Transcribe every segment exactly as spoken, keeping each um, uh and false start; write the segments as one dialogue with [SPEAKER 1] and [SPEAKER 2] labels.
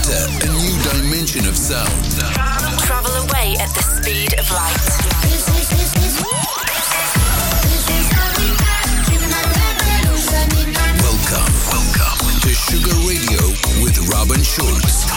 [SPEAKER 1] Enter a new dimension of sound.
[SPEAKER 2] Travel away at the speed of light.
[SPEAKER 1] Welcome, welcome to Sugar Radio with Robin Schulz.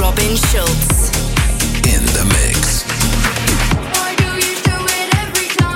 [SPEAKER 2] Schulz.
[SPEAKER 1] In the mix.
[SPEAKER 3] Why do you do it every time?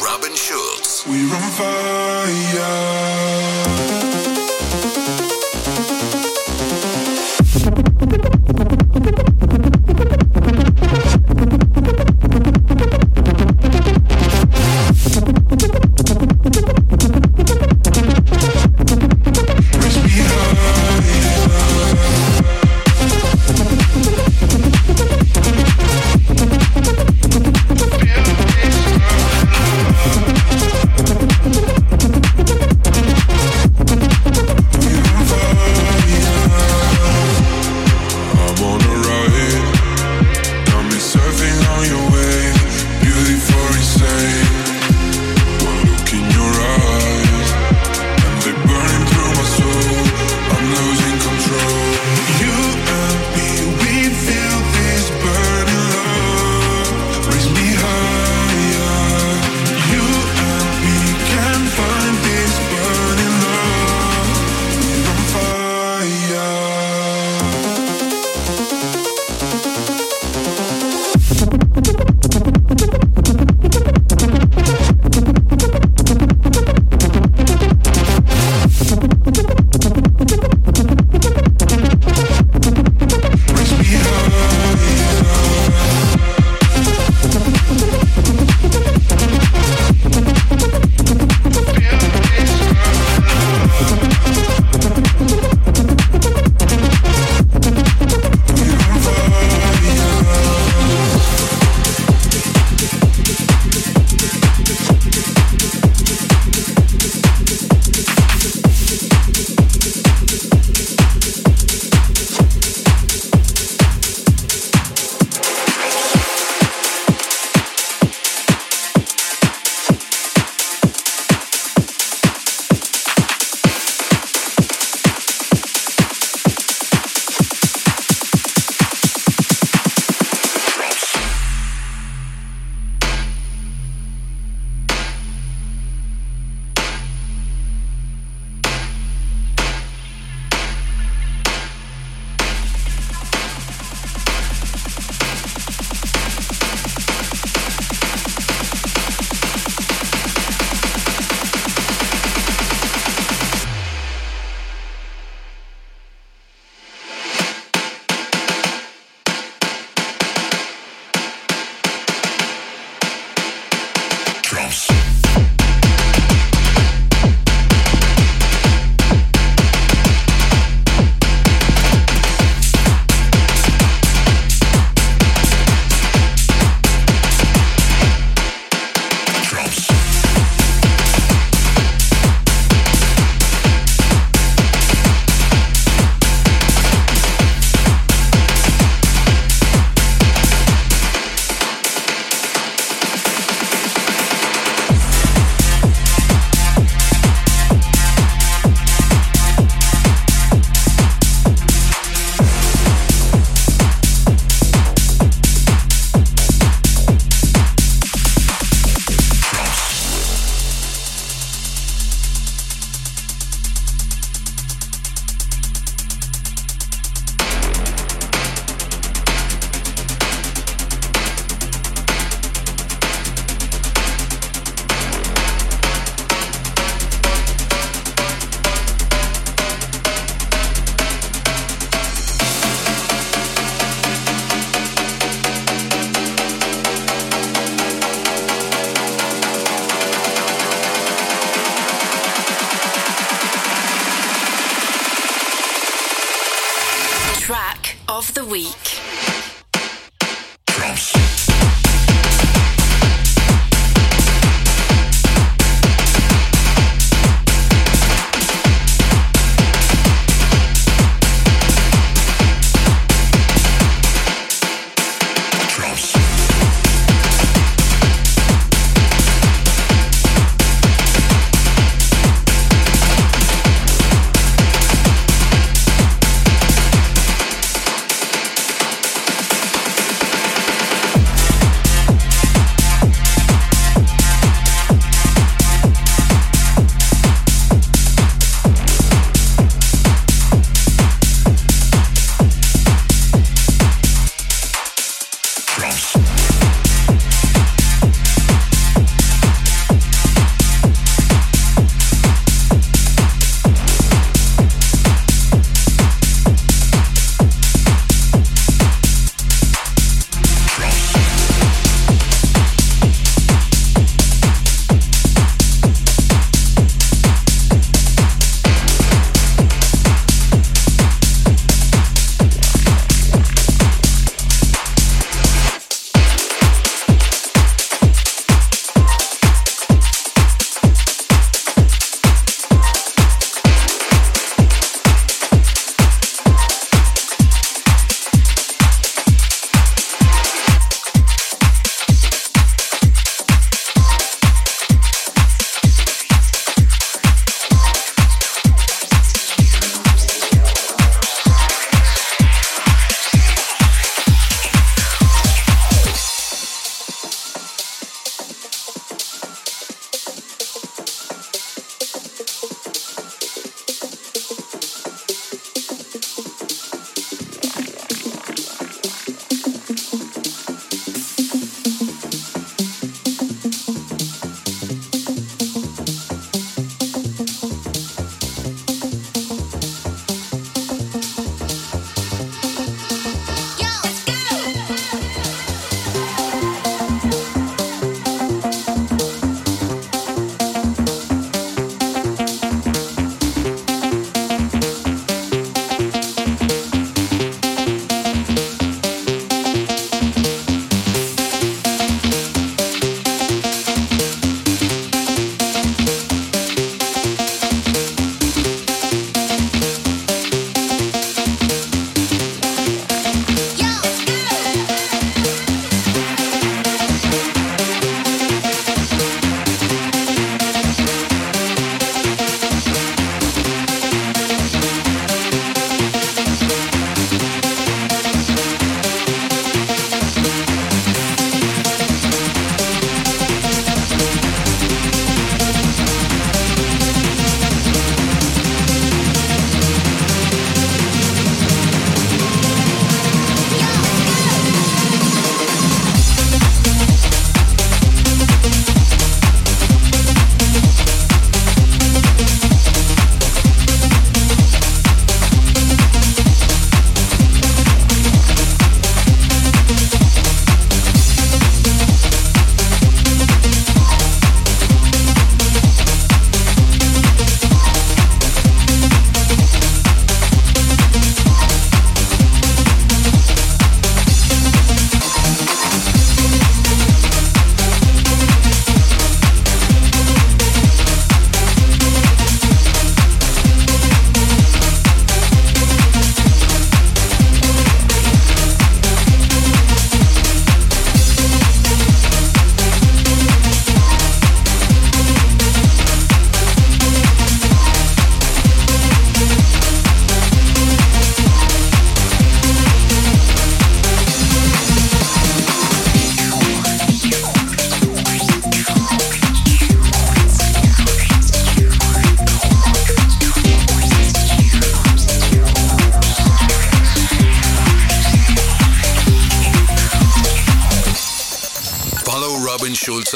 [SPEAKER 1] Robin Schulz.
[SPEAKER 3] We're on fire.
[SPEAKER 4] We'll be right back.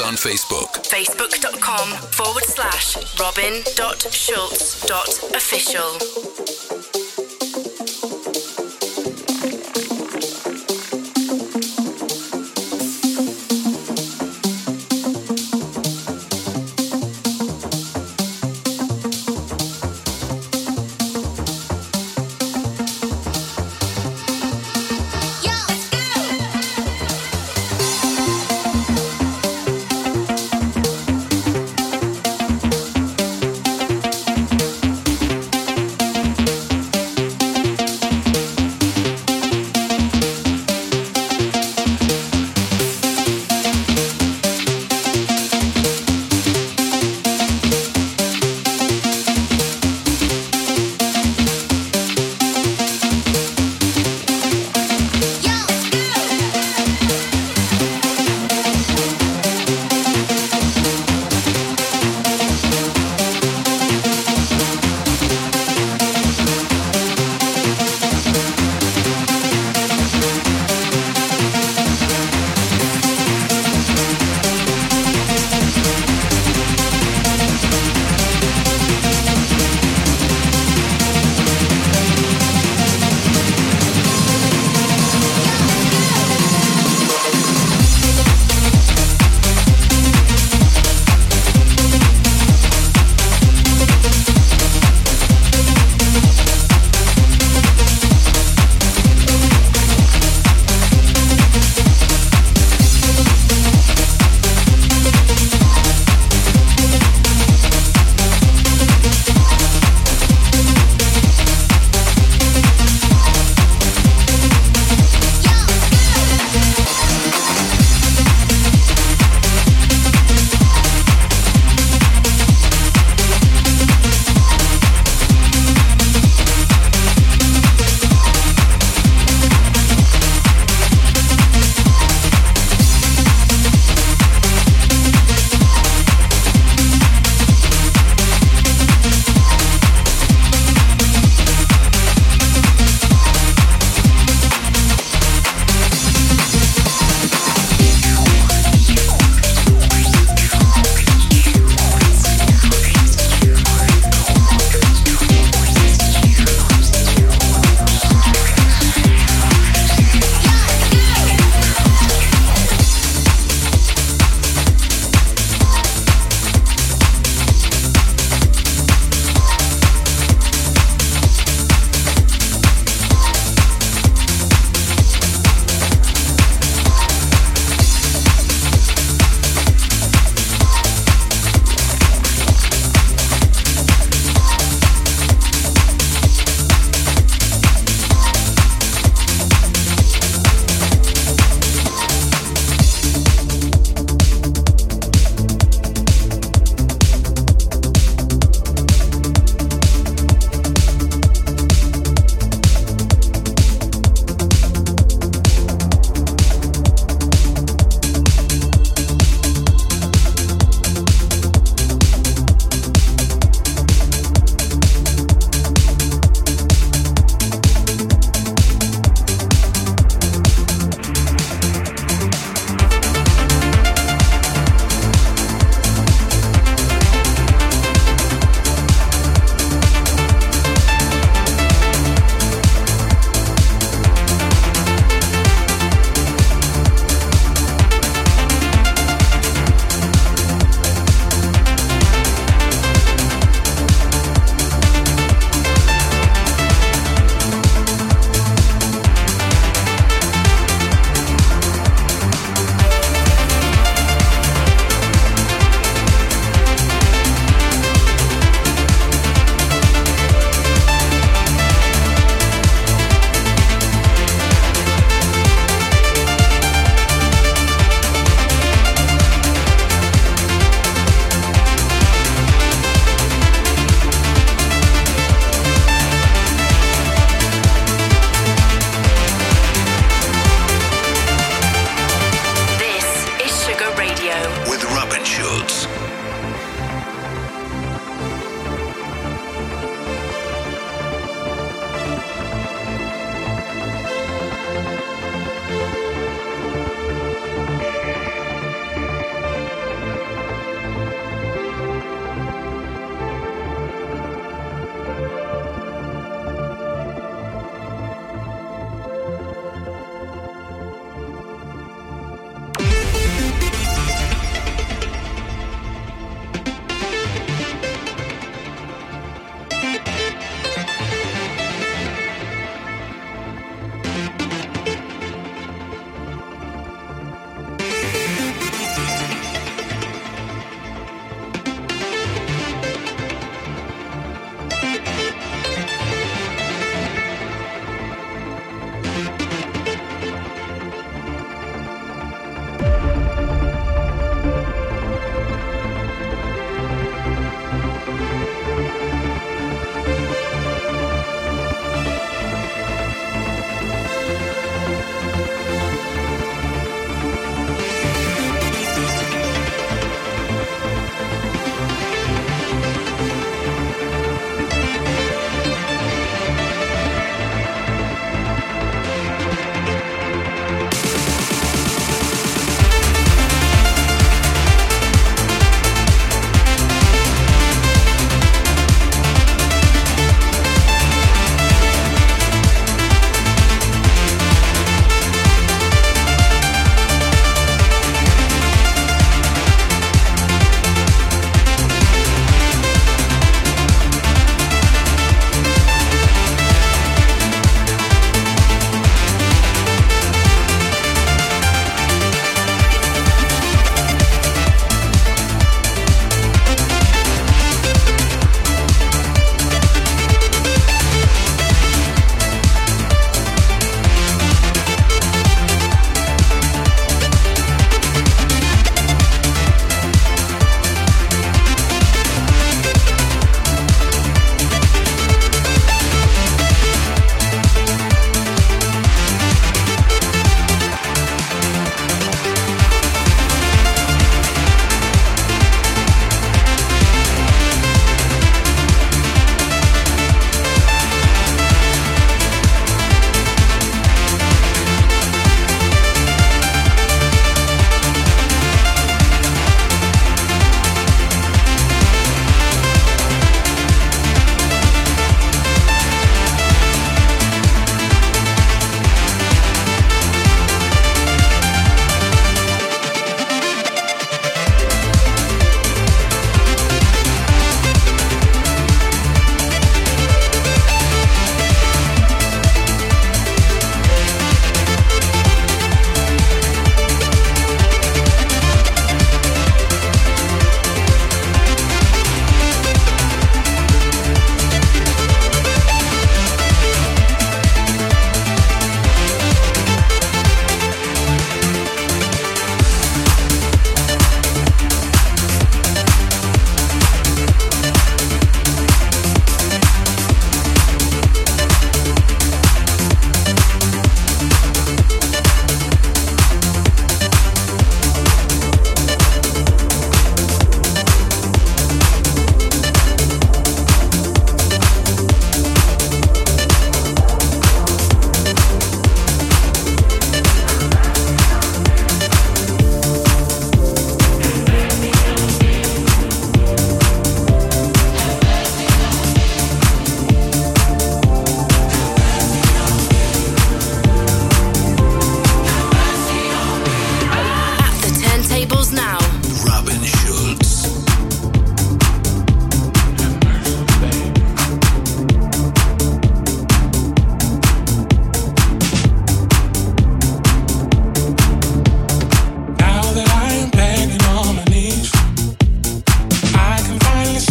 [SPEAKER 1] on Facebook.
[SPEAKER 2] Facebook.com forward slash robin.schultz.official.
[SPEAKER 4] Yo,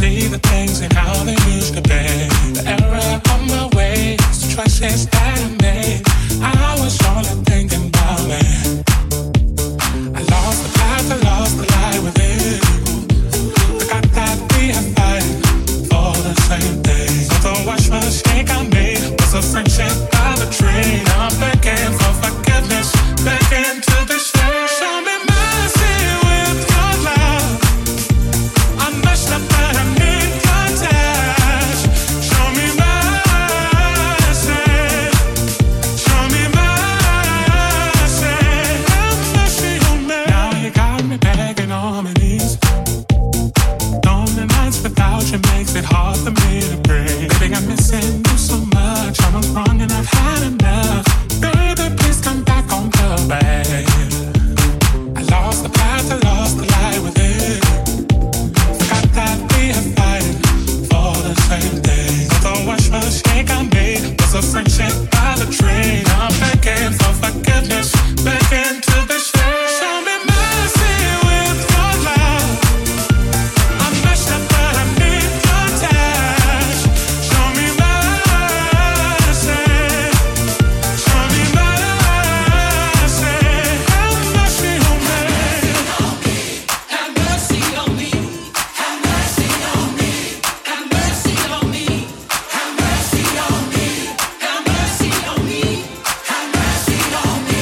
[SPEAKER 4] see the things and how they used to be. The error of my ways, the choices that I made. I was only thinking about me. I lost the path, I lost the light within. Forgot that we are fighting for the same thing. So the wash mistake I made was a friendship by the tree. Now I'm begging for forgiveness, begging to be saved. Show me mercy with your love. I messed up but I need your touch. Show me mercy. Show me mercy. Have mercy on me. Now you got me begging on my knees. Lonely nights without you makes it hard for me to breathe. Baby, I'm missing you so much. I was wrong and I've had enough. Baby, please come back on the way. I lost the path, I lost the light within. Forgot that we are fighting for the same thing. So the worst mistake I made was a friendship by the tree. Now I'm begging for forgiveness, begging to be saved. Show me mercy with your love. I messed up but I need your touch. Show me mercy. Show me mercy. Have mercy on me.
[SPEAKER 5] Have mercy on me. Have mercy on me. Have mercy on me. Have mercy on me. Have mercy on me. Have mercy on me.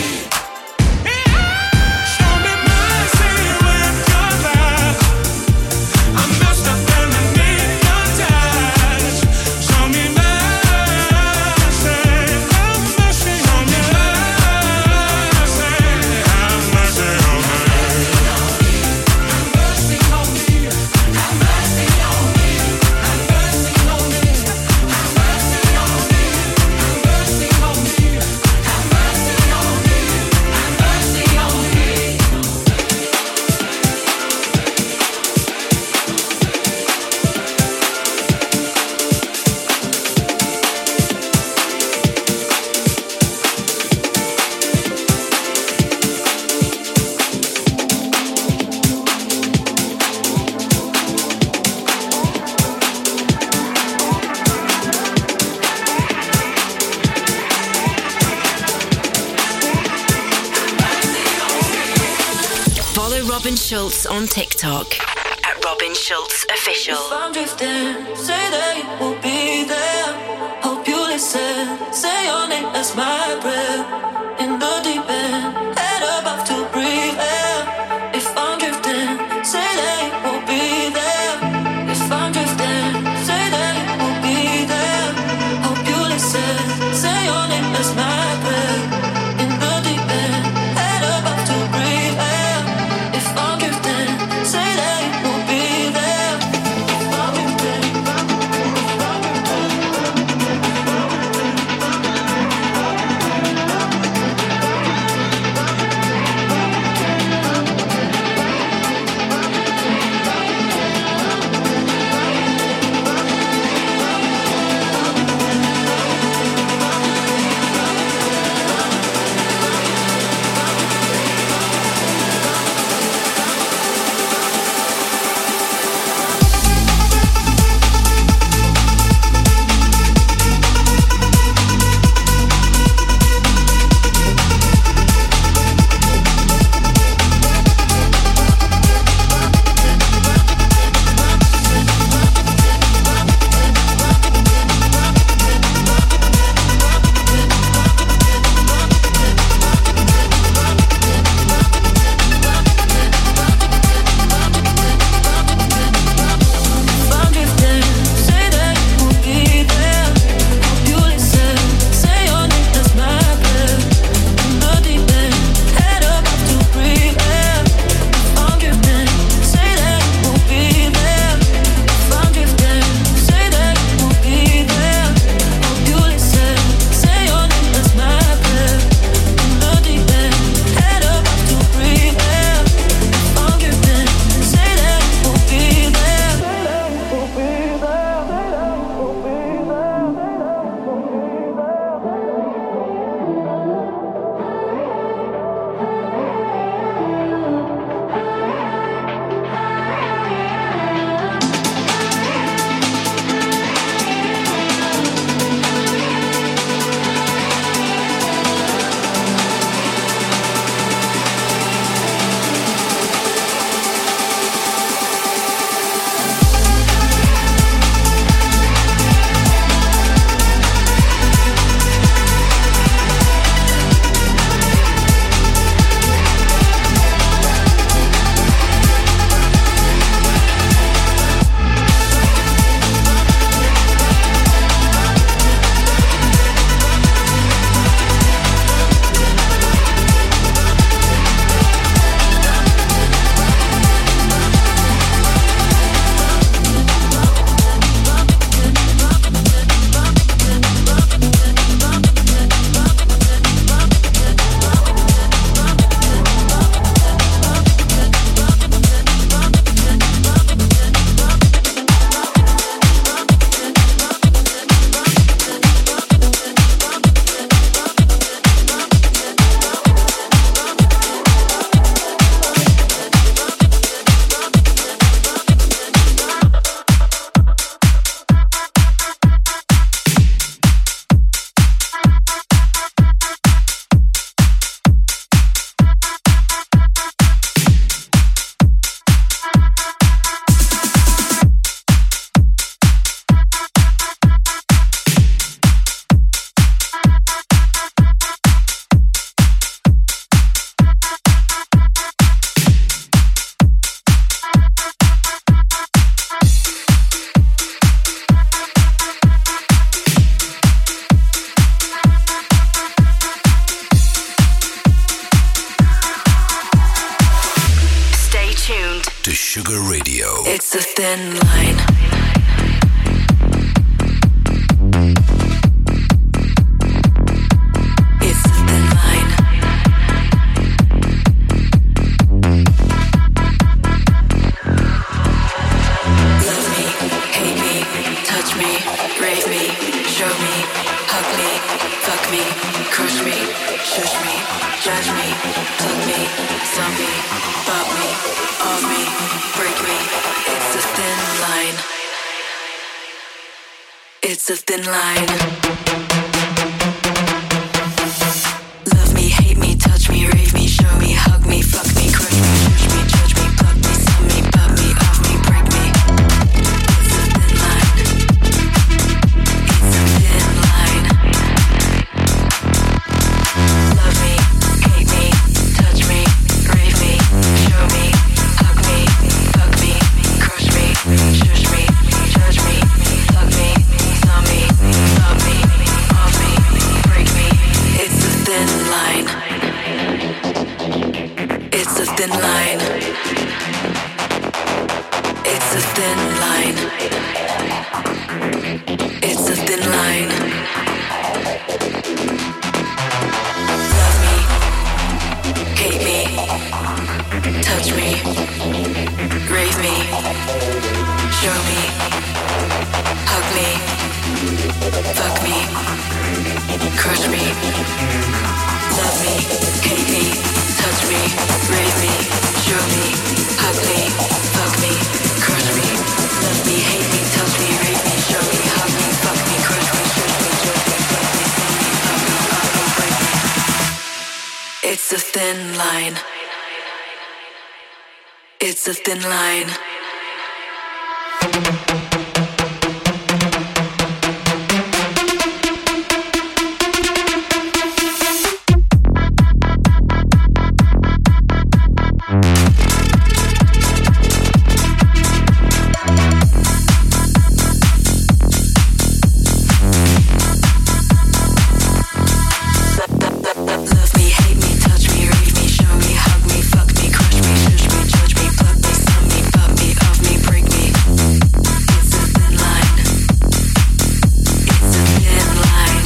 [SPEAKER 4] Show me mercy with your love. I messed up and I need your touch. Show me mercy. Have mercy on me. Have mercy on me.
[SPEAKER 5] Have mercy on me. Have mercy on me. Have mercy on me. Have mercy on me. Have mercy on me. Have mercy on me. Have mercy on me.
[SPEAKER 2] Follow Robin Schulz on TikTok at Robin Schulz Official.
[SPEAKER 6] If I'm drifting, say that you will be there. Hope you listen, say your name as my breath. In the deep end, head above to breathe air. If I'm drifting, say that you will be there. If I'm drifting, say that you will be there. Hope you listen, say your name as my breath. In the deep end, head above to breathe air. If I'm drifting, say that you will be there. If I'm drifting, if I'm drifting, if I'm drifting.
[SPEAKER 2] line. It's a thin line. Love me, hate me, touch me, rave me, show me, hug me, fuck me, crush me, shush me, judge me, plug me, sum me, bop me, off me, break me. It's a thin line. It's a thin line. Love me, hate me, touch me, rave me, show me, hug me, fuck me, crush me, shush me, judge me, plug me, sum me, bop me, off me, break me. It's a thin line. It's a thin line. Love me, hate me, touch me, rave me, show me, hug me, fuck me, crush me, shush me, judge me, plug me, sum me, bop me, off me, break me. It's a thin line. It's a thin line. It's a thin line. It's a thin line. Love me, hate me, touch me, rave me, show me, hug me, fuck me, crush me. Love me, hate me, touch me, rave me, show me, hug me, fuck me, crush me. Love me, hate me, touch me, rave me, show me, hug me, fuck me, crush me, shush me, judge me, plug me, sum me, bop me, off me, break me. It's a thin line. It's a thin line. Love me, hate me, touch me, rave me, show me, hug me, fuck me, crush me, shush me, judge me, plug me, sum me, bop me, off me, break me. It's a thin line. It's a thin line.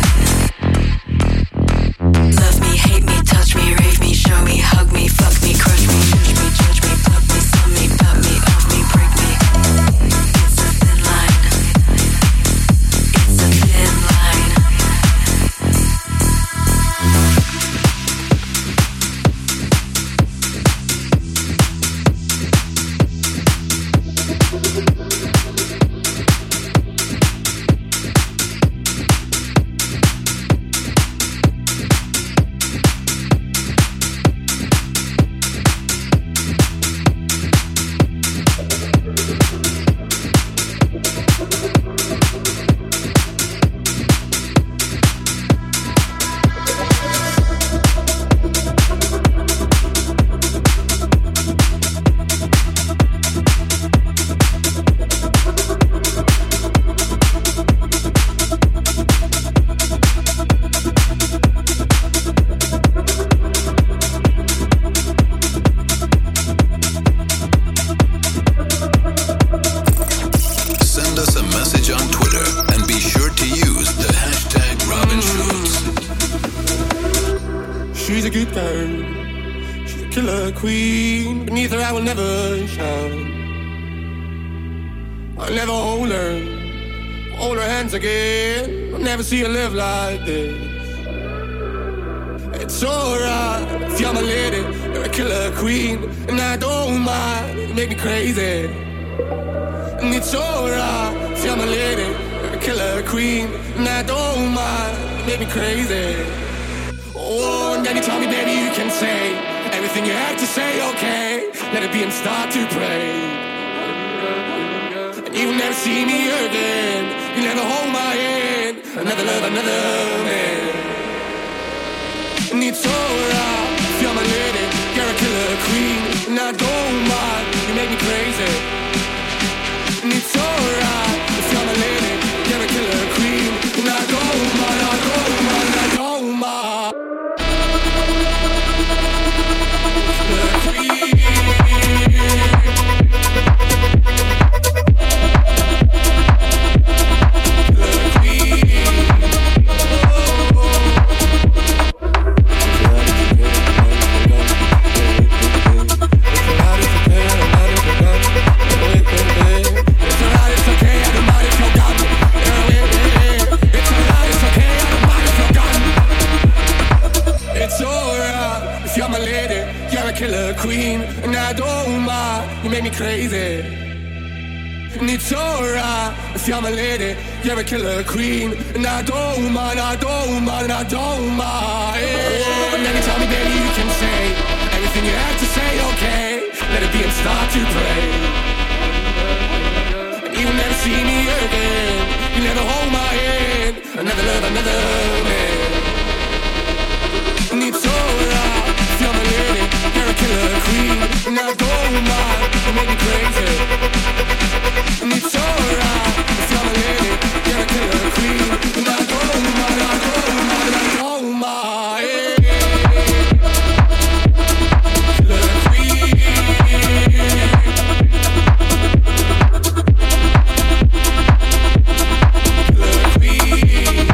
[SPEAKER 2] Love me, hate me, touch me, rave me, show me, hug me, fuck me, crush me, shush me, judge me, plug me, sum me, bop me, off me, break me. It's a thin line. It's a thin line.
[SPEAKER 1] Send us a message on Twitter and be sure to use the hashtag Robin Schultz.
[SPEAKER 7] She's a good girl. She's a killer queen. Beneath her I will never shine. I'll never hold her. Hold her hands again. I'll never see her live like this. It's alright if you're my lady. You're a killer queen. And I don't mind. You make me crazy. And it's alright if you're my lady. You're a killer queen. And I don't mind. You make me crazy. Oh, and anytime, baby, you can say everything you have to say, okay. Let it be and start to pray. And you will never see me again. You never hold my hand. Another love, another man. And it's alright if you're my lady. You're a killer queen. And I don't mind. You make me crazy. And it's alright if you're my lady. You're a killer queen. And I don't mind, I don't mind, I don't mind. The queen. you make me crazy. And it's alright if you're my lady, you're a killer queen. And I don't mind, I don't mind, I don't mind. And anytime, baby, you can say everything you have to say, okay. Let it be and start to pray. And you'll never see me again. You never hold my hand. Another love, another man. And it's alright if you're my lady, you're a killer queen. And I don't mind, you make me crazy. And it's alright if you're my lady, you're a killer queen. And I don't mind, I don't mind, I don't mind. Killer queen. Killer queen.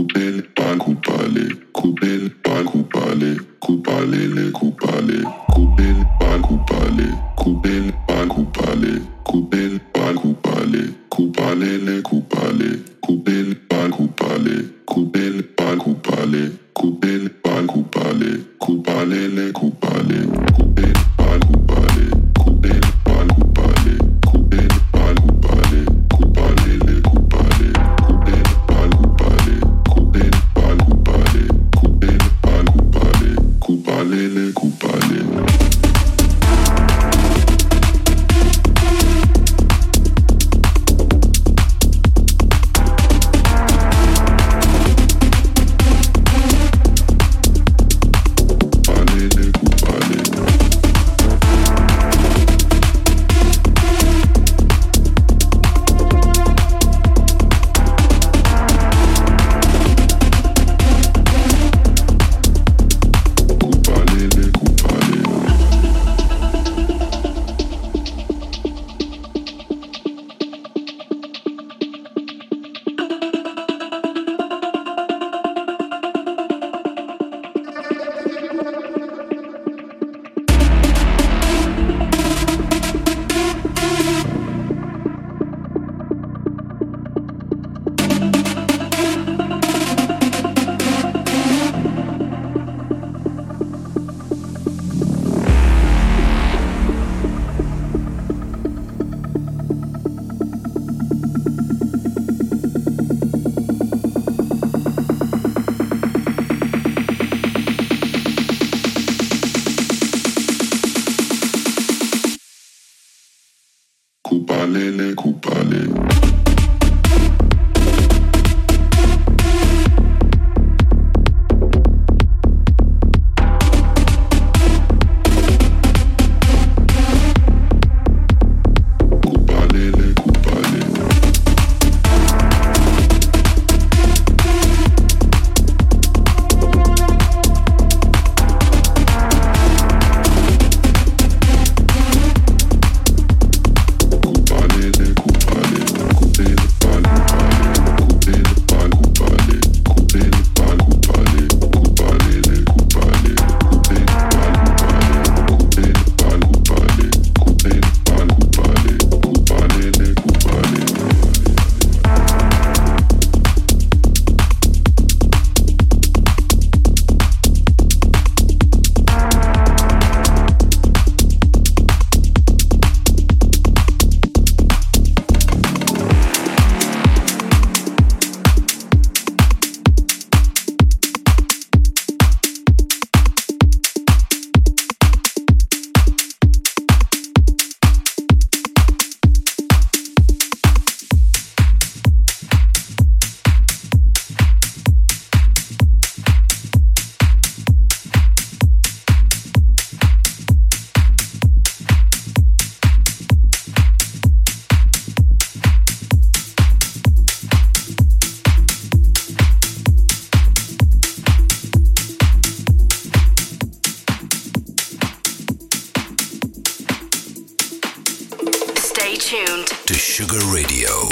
[SPEAKER 2] tuned to Sugar Radio.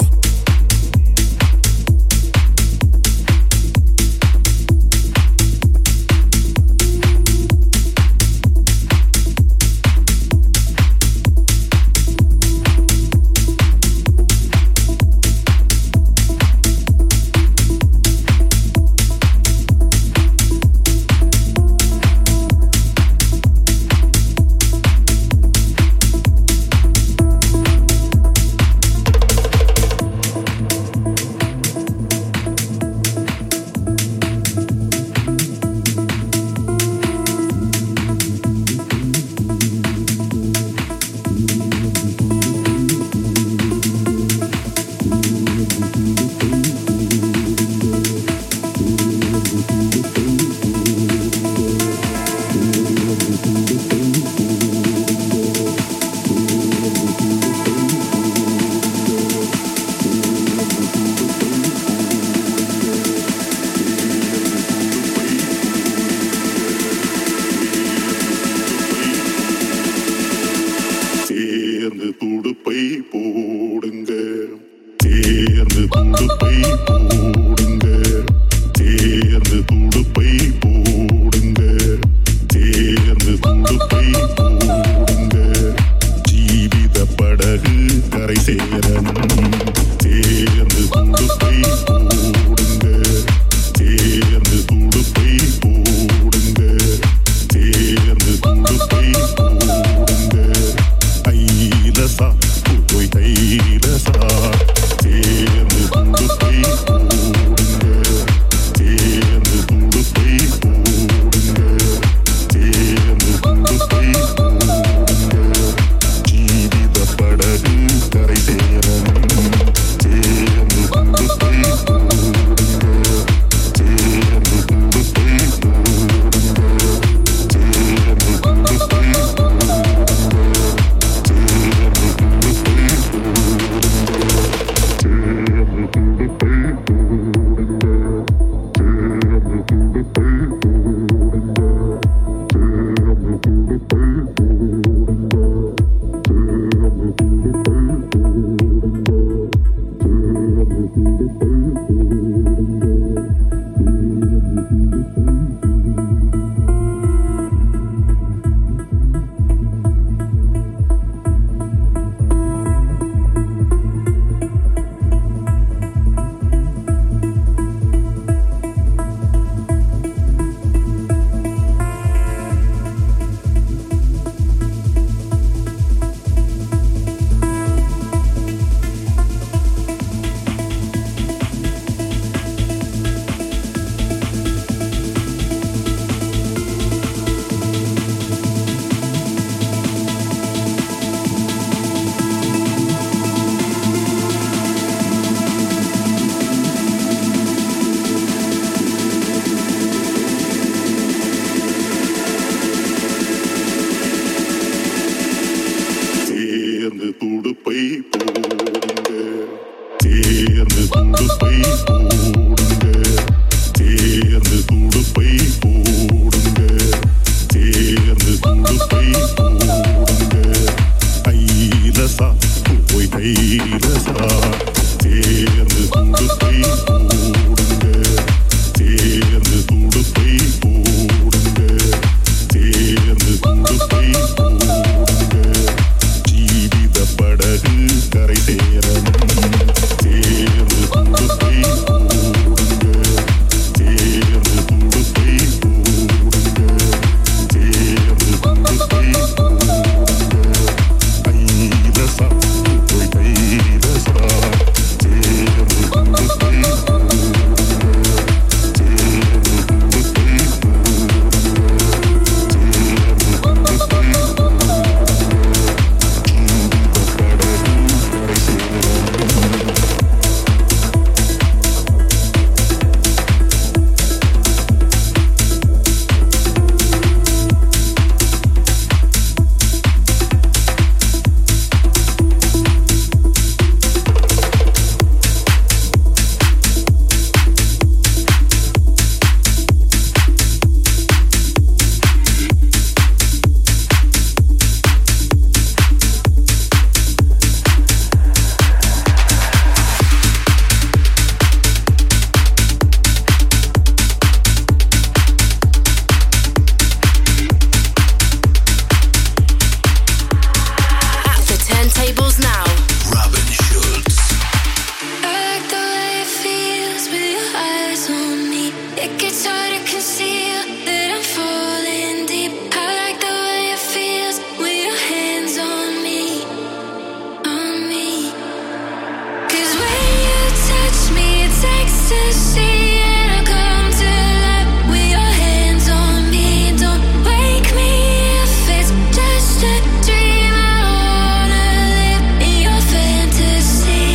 [SPEAKER 8] It gets hard to conceal that I'm falling deep. I like the way it feels with your hands on me, on me. 'Cause when you touch me, it's ecstasy, and I come to life with your hands on me. Don't wake me if it's just a dream. I wanna live in your fantasy,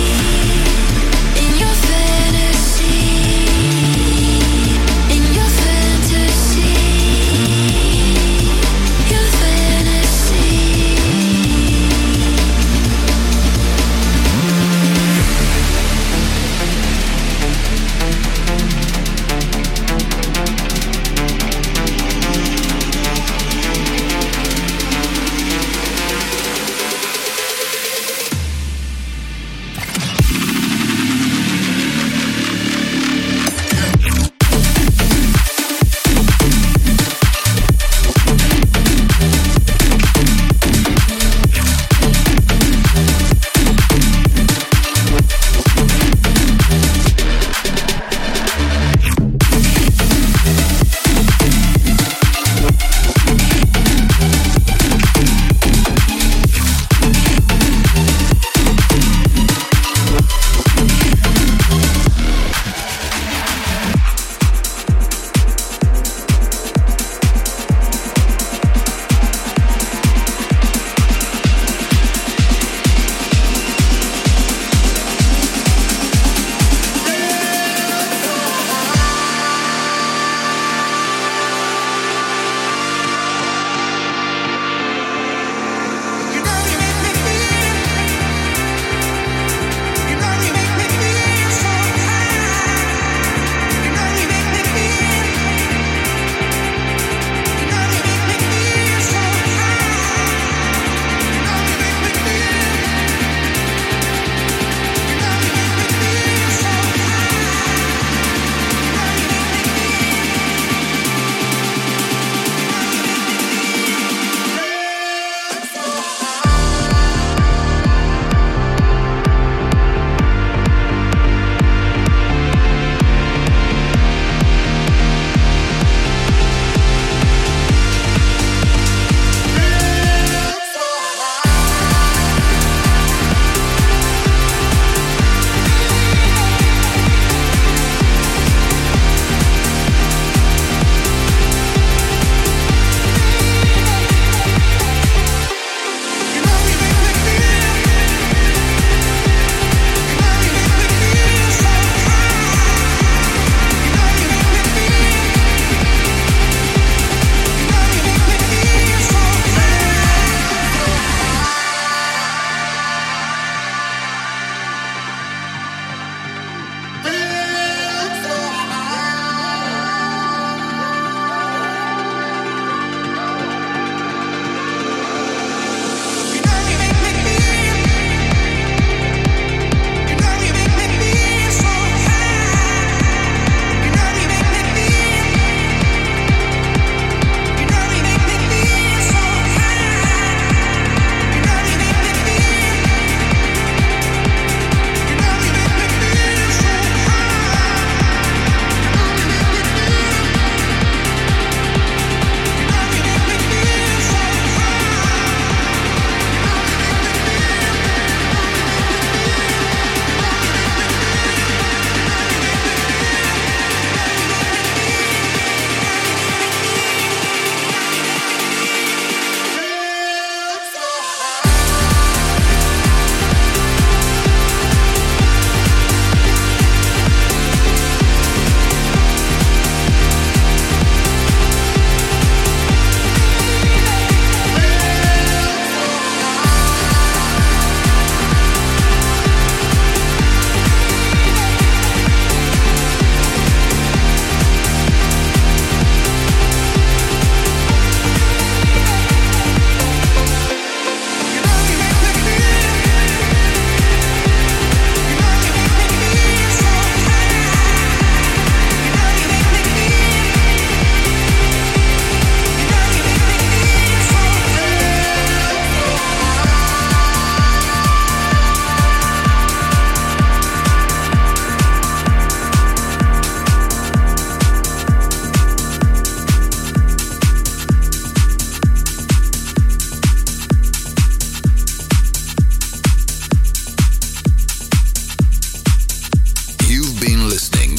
[SPEAKER 8] in your fantasy, in your fantasy.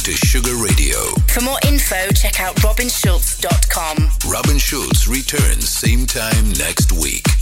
[SPEAKER 1] to Sugar Radio.
[SPEAKER 9] For more info, check out robin schulz dot com.
[SPEAKER 1] Robin Schulz returns same time next week.